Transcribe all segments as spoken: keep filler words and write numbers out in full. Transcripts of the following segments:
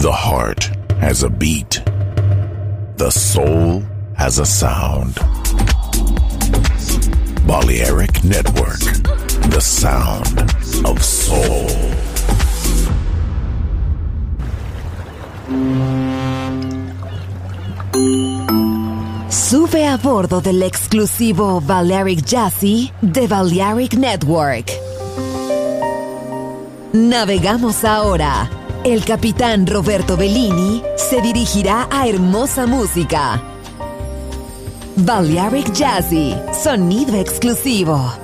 The heart has a beat. The soul has a sound. Balearic Network, the sound of soul. Sube a bordo del exclusivo Balearic Jazzy de Balearic Network. Navegamos ahora. El capitán Roberto Bellini se dirigirá a hermosa música. Balearic Jazzy, sonido exclusivo.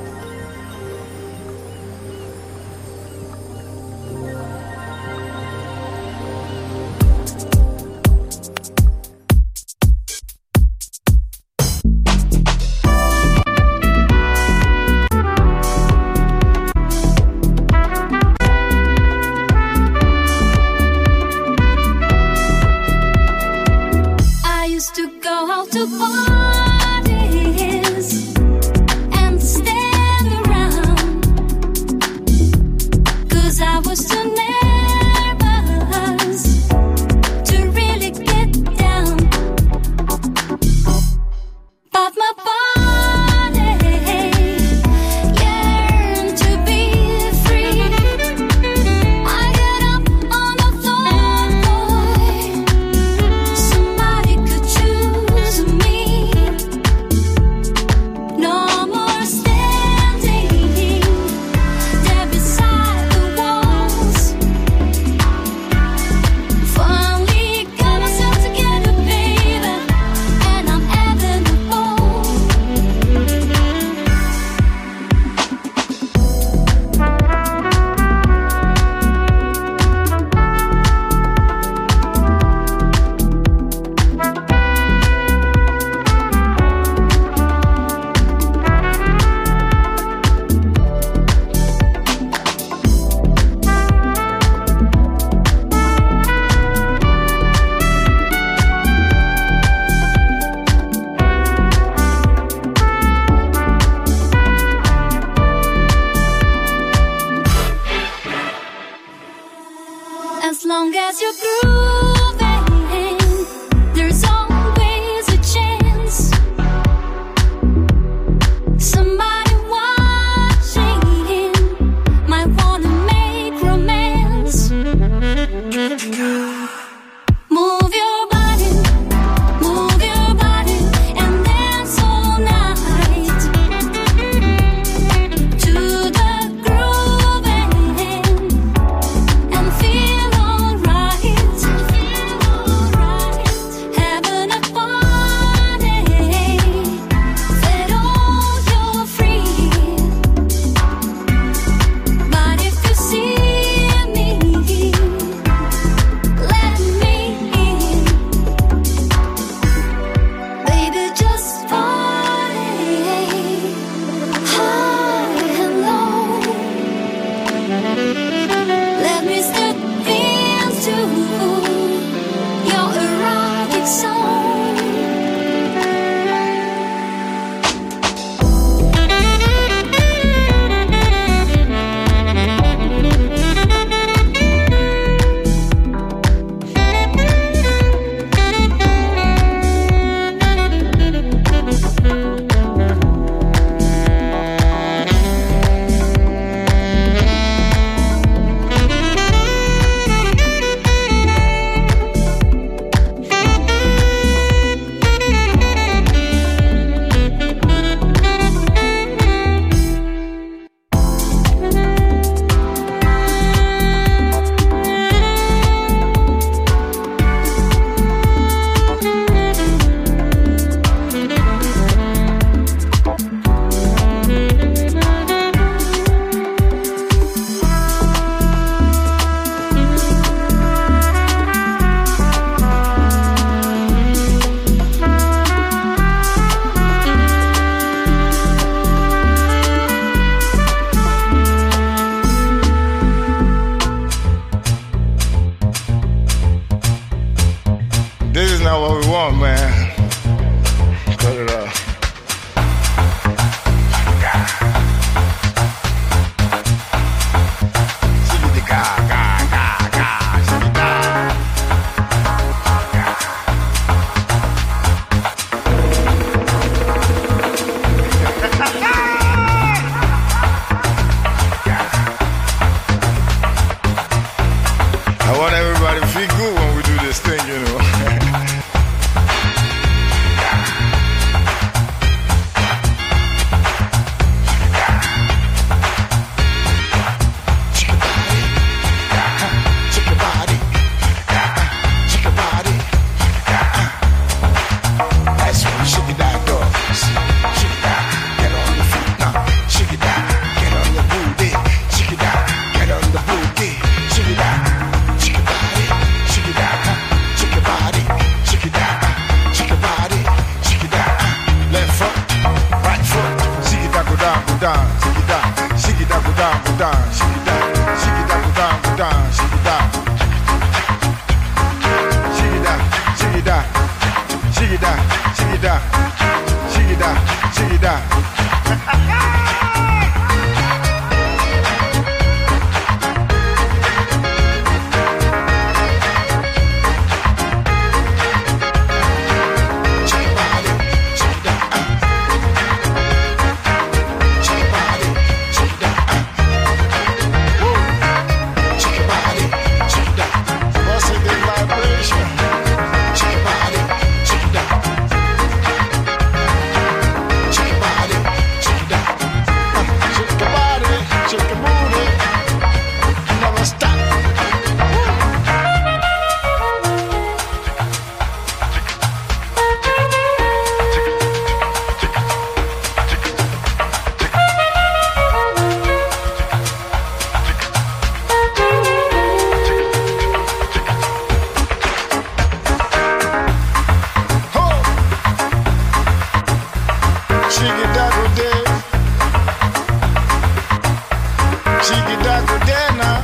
Chiquidago day now.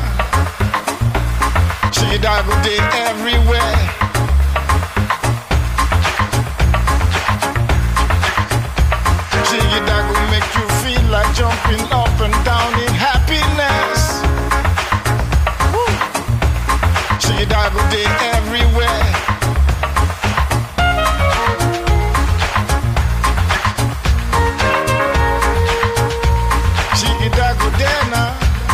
Chiquidago day everywhere. Chiquidago make you feel like jumping up and down in happiness. Woo. Chiquidago day everywhere. Chiquidago day now.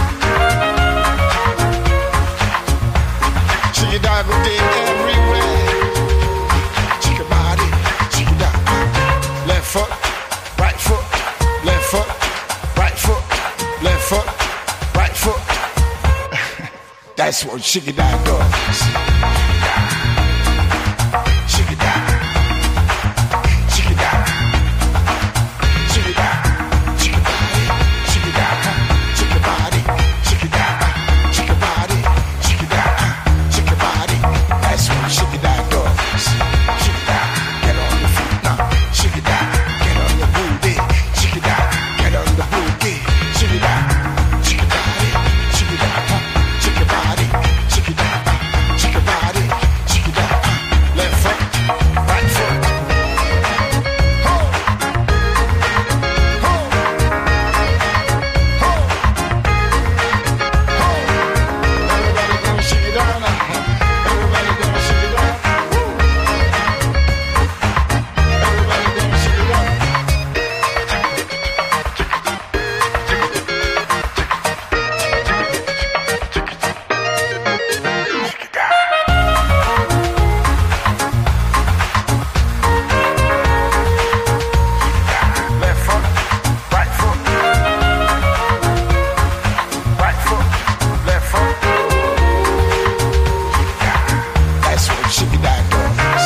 Chiquidago day everywhere. Chica body, chiquida. Left foot, right foot, left foot, right foot, left foot, right foot. That's what chiquida does. Chiquida, chiquida, chiquida, chiquida, chiquida, chiquida body, chiquida, chiquida body, chiquida, chiquida body. That's what chiquida does. Chiquida, get on your feet now. Chiquida, get on your booty. Chiquida, get on the booty. Chiquida, chiquida body, chiquida, chiquida body, chiquida, chiquida body, chiquida. Left foot, right foot. Ho, ho, ho, ho. Everybody gonna shake it down now. Everybody gonna shake it down. Woo. Everybody gonna shake it down. Left foot, right foot, right foot, left foot. That's what chiquida does.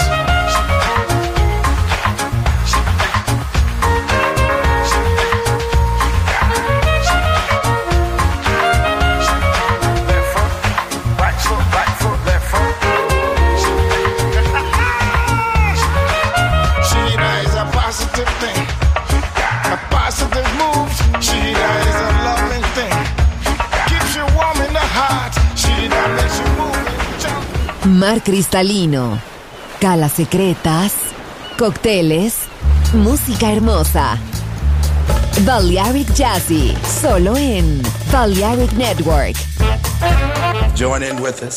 Left foot, right foot, right foot, left foot. Chiquida is a positive thing, a positive move. Chiquida is a loving thing, keeps you warm in the heart. Chiquida makes you move and jump. Mar cristalino, calas secretas, cócteles, música hermosa. Balearic Jazzy, solo en Balearic Network. Join in with us.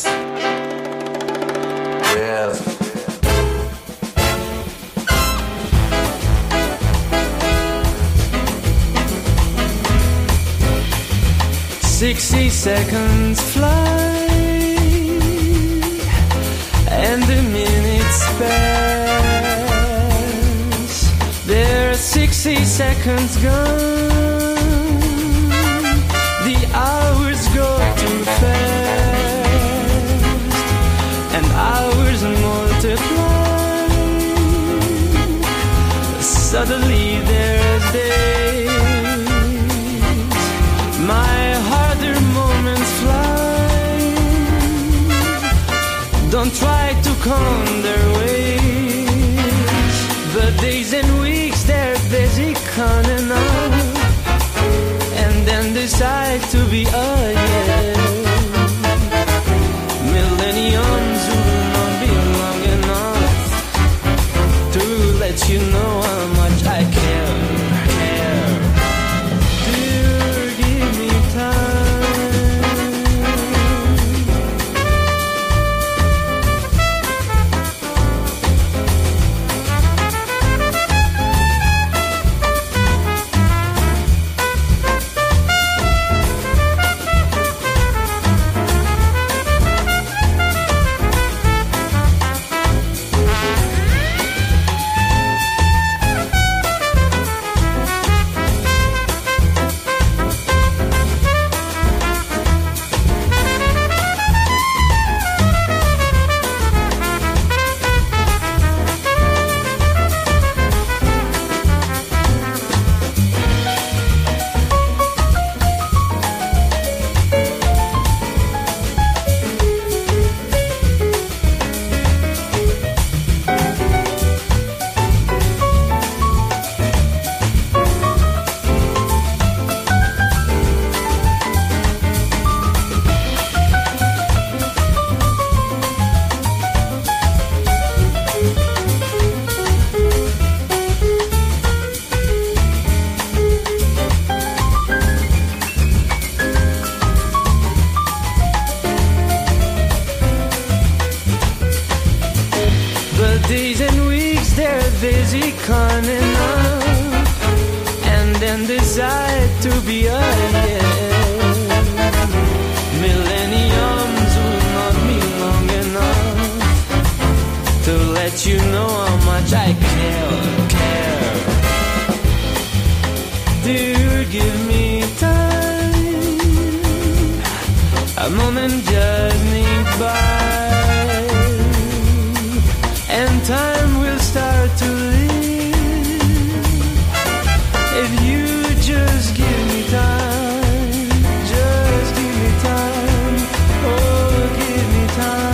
Yeah. Sixty seconds fly, and the minutes pass. There are sixty seconds gone. The hours go too fast, and hours multiply. Suddenly there's days. My harder moments fly. Don't try to count their ways. The days and weeks, they're busy counting up, and then decide to be again. Millenniums will not be long enough to let you know how much I care. care. Dear, give me time. a moment journey by, and time will start to live if you just give me time, just give me time, oh give me time.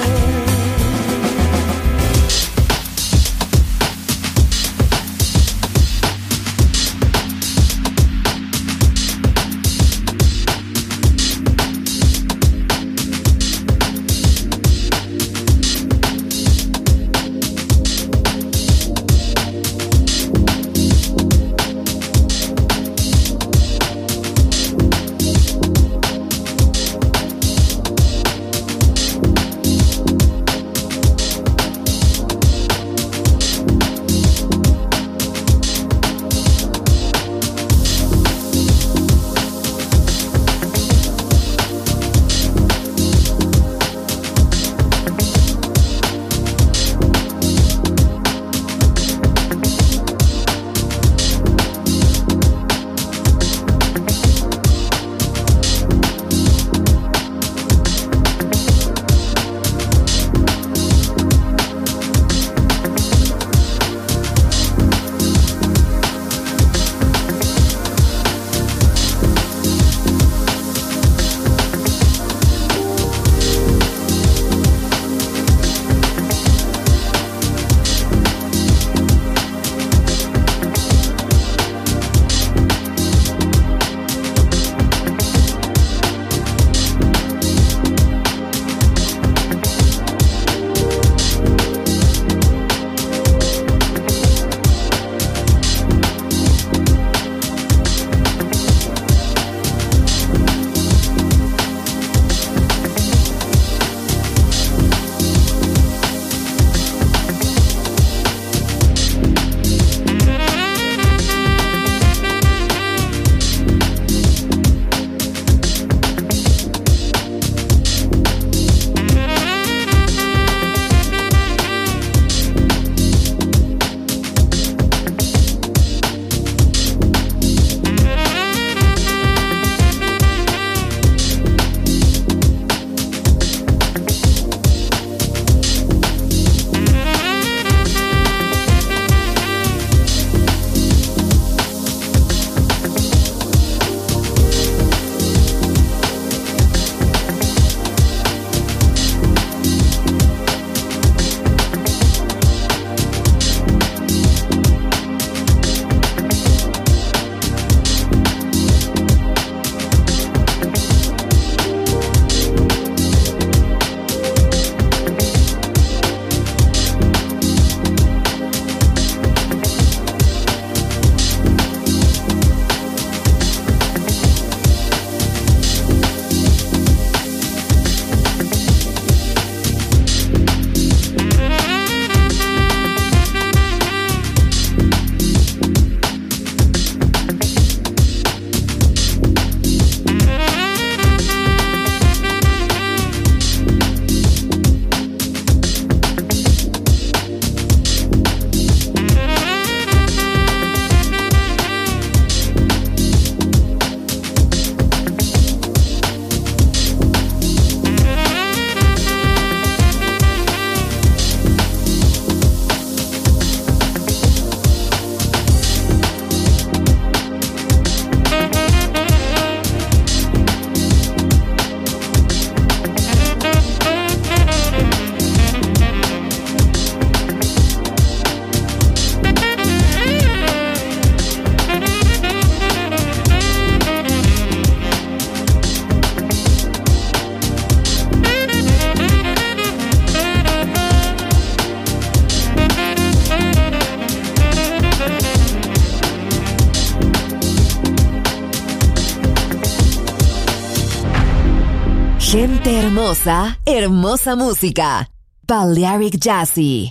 Gente hermosa, hermosa música. Balearic Jazzy.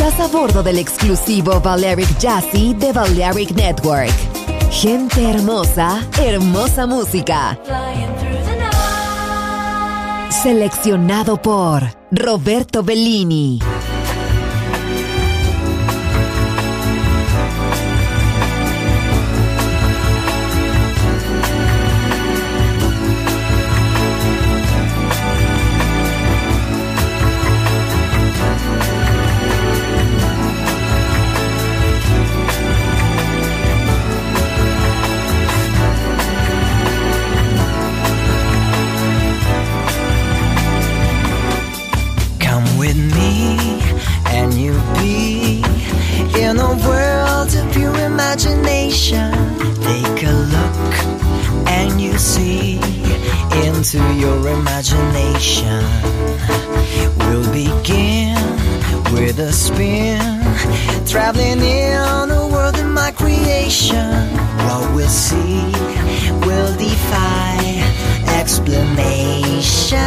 Estás a bordo del exclusivo Balearic Jazzy de Balearic Network. Gente hermosa, hermosa música. Seleccionado por Roberto Bellini. Take a look and you see into your imagination. We'll begin with a spin, traveling in a world of my creation. What we'll see will defy explanation.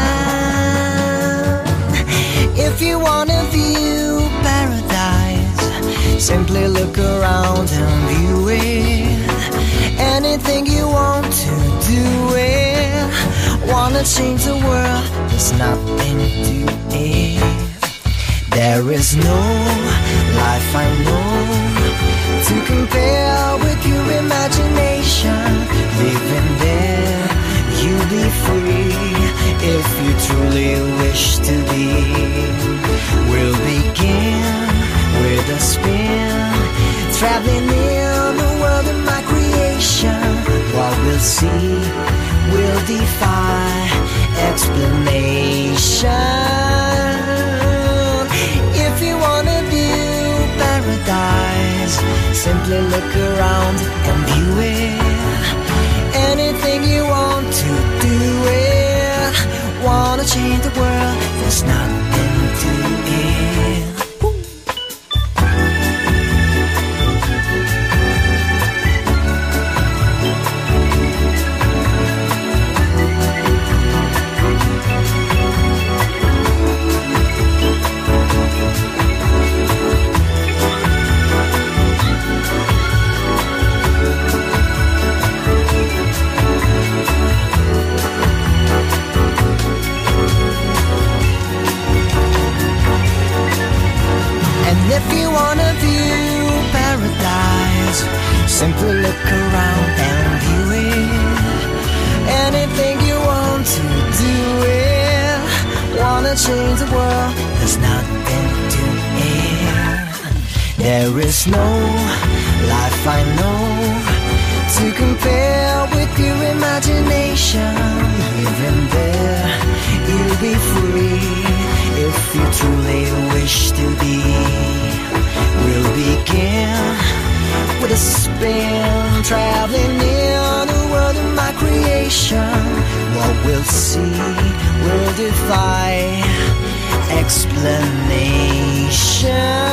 If you wanna view paradise, simply look around and view it. Anything you want to do it. Wanna change the world, there's nothing to it. There is no life I know to compare with your imagination. Living there, you'll be free if you truly wish to be. We'll begin with a spin, traveling in the world of my creation. What we'll see will defy explanation. If you wanna view paradise, simply look around and view it. Anything you want to do it. Wanna change the world, there's nothing to it. If you wanna view paradise, simply look around and view it. Anything you want to do it. Wanna change the world, there's nothing to it. There is no life I know to compare with your imagination. Living there, you'll be free if you truly wish to be. We'll begin with a spin, traveling in the world of my creation. What we'll see will defy explanation.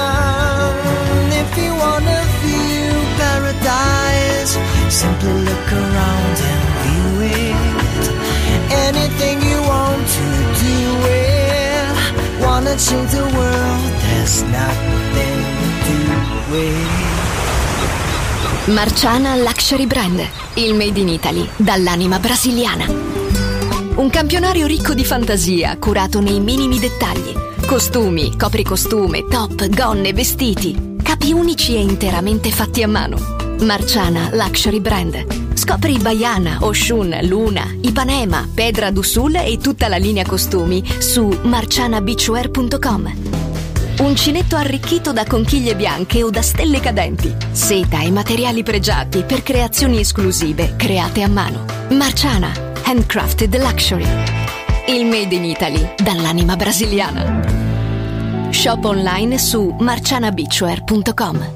If you wanna view paradise, simply look around and view it. Anything you want to do it. Wanna change the world, there's nothing to it. Marciana Luxury Brand, il made in Italy dall'anima brasiliana. Un campionario ricco di fantasia, curato nei minimi dettagli. Costumi, copricostume, top, gonne, vestiti. Capi unici e interamente fatti a mano. Marciana Luxury Brand. Scopri Baiana, Oshun, Luna, Ipanema, Pedra do Sul e tutta la linea costumi su marciana beachwear punto com. Uncinetto arricchito da conchiglie bianche o da stelle cadenti. Seta e materiali pregiati per creazioni esclusive create a mano. Marciana, handcrafted luxury. Il made in Italy dall'anima brasiliana. Shop online su marciana beachwear punto com.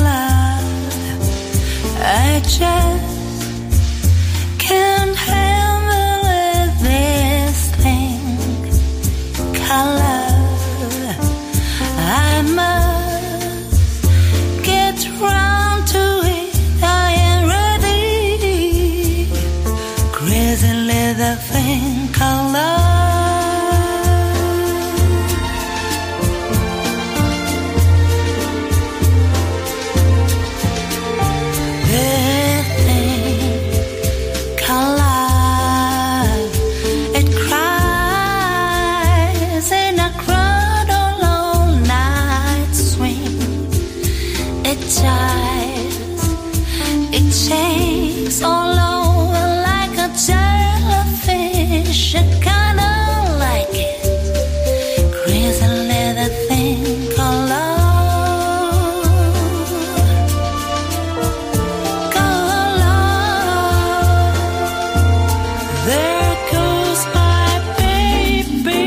I just can't help think of love. They think of love. It cries in a crowd all night swing. It jives, it shakes all over like a jellyfish. I kinda like it. Crazy little thing called love. Called love. There goes my baby.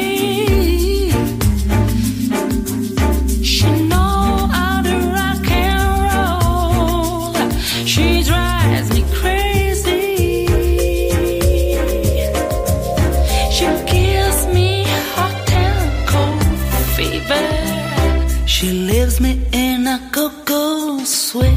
She know how to rock and roll. She drives me crazy. She gives me hot and cold fever. She leaves me in a go-go sweat.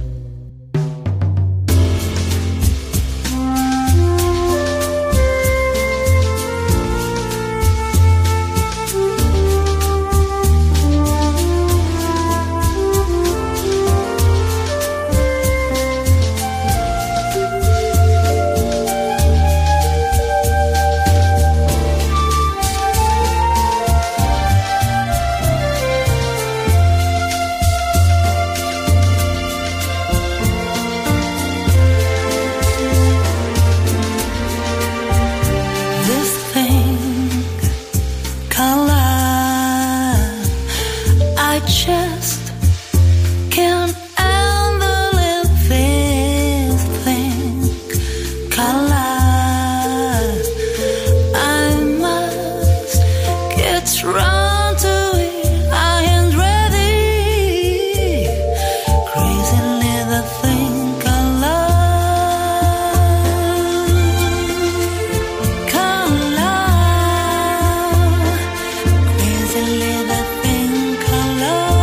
This thing called love, I just can't handle it. This thing called love, I must get round to it. I ain't ready. Crazy little thing called love. Called love. Crazy little thing called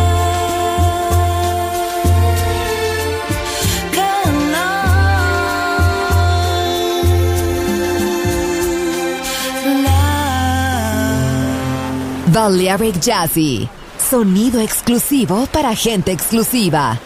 love. Called love. Love. Balearic Jazzy, sonido exclusivo para gente exclusiva.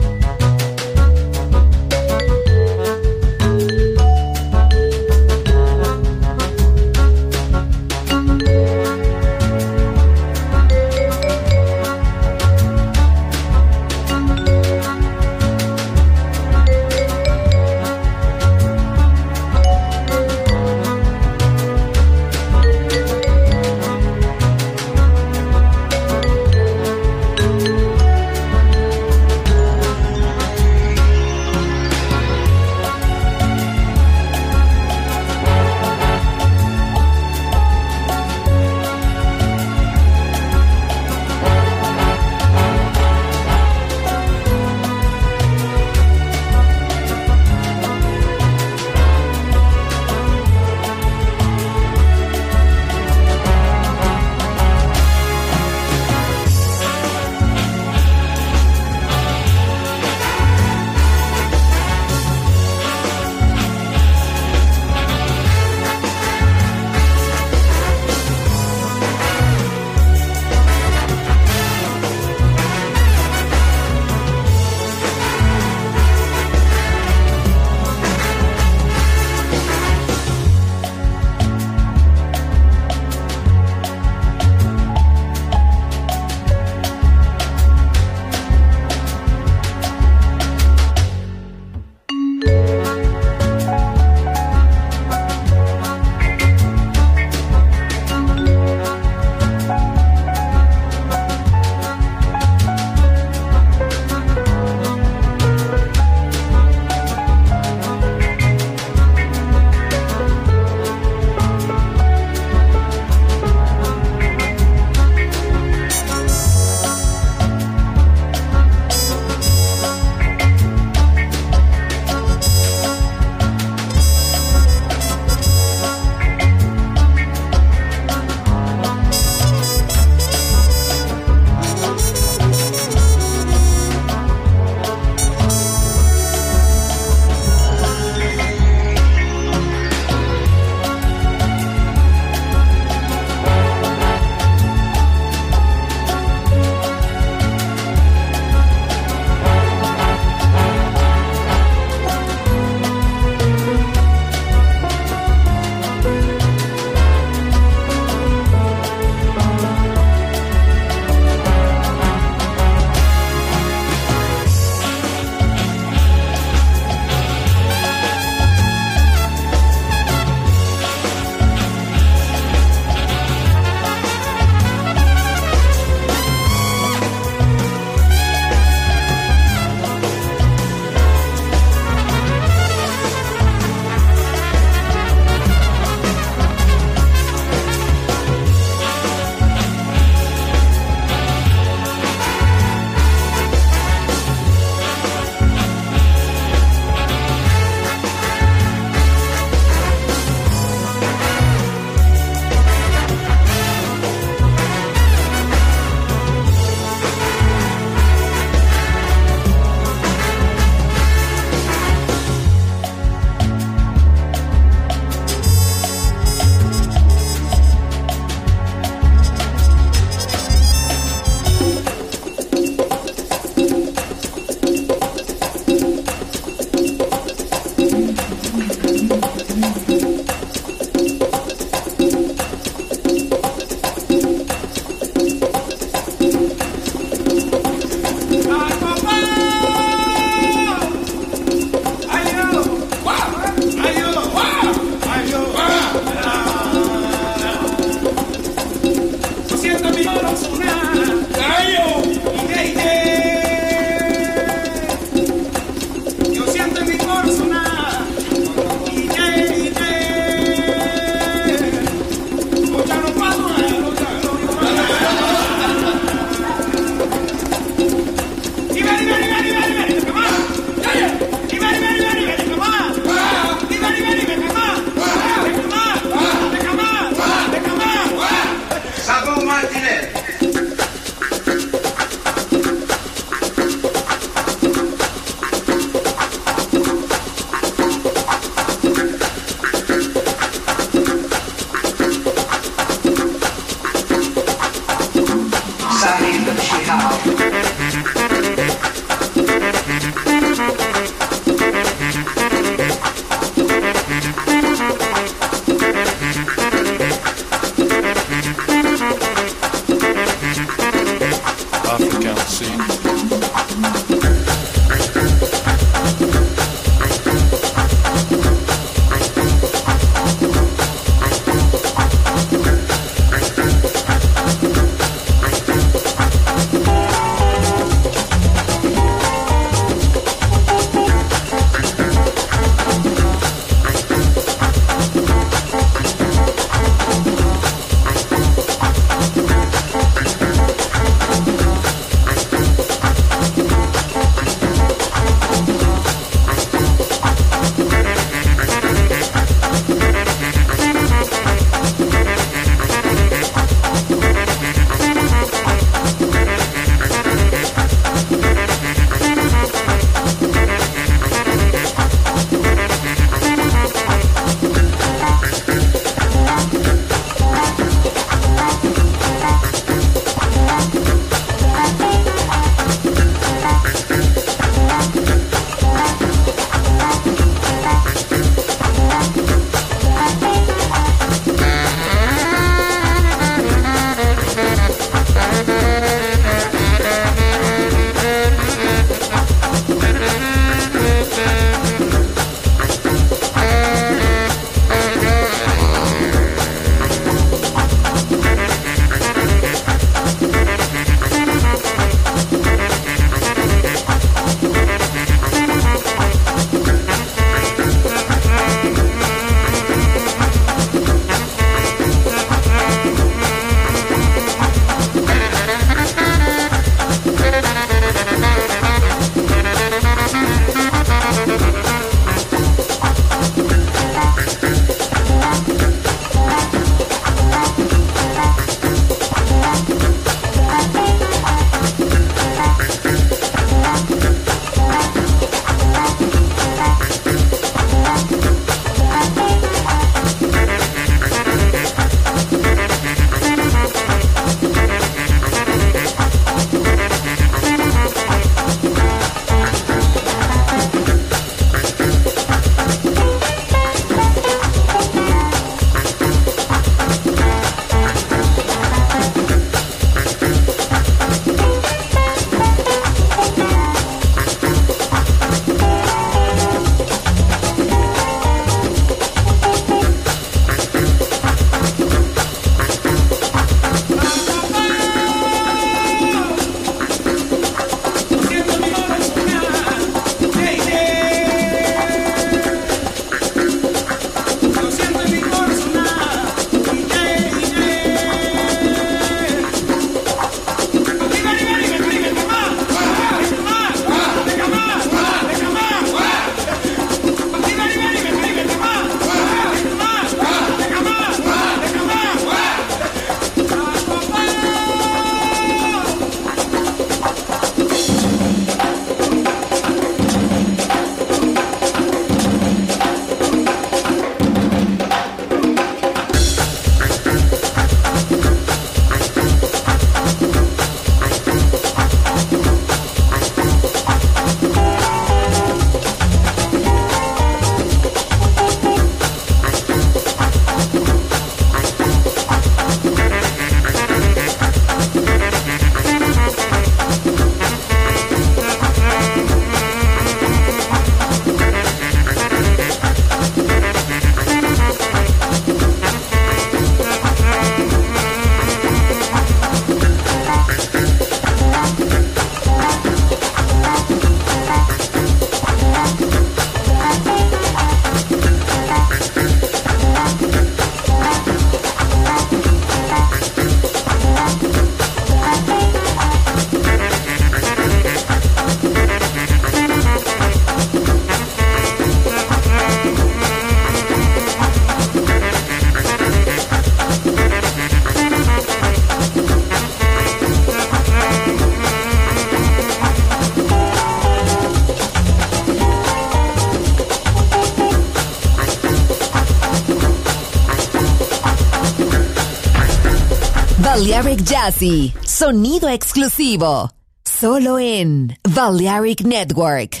Balearic Jazzy, sonido exclusivo, solo en Balearic Network.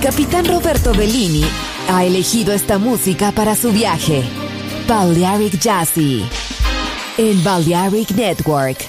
capitán Roberto Bellini ha elegido esta música para su viaje. Balearic Jazzy en Balearic Network.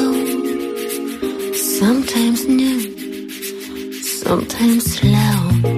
Sometimes new, sometimes slow.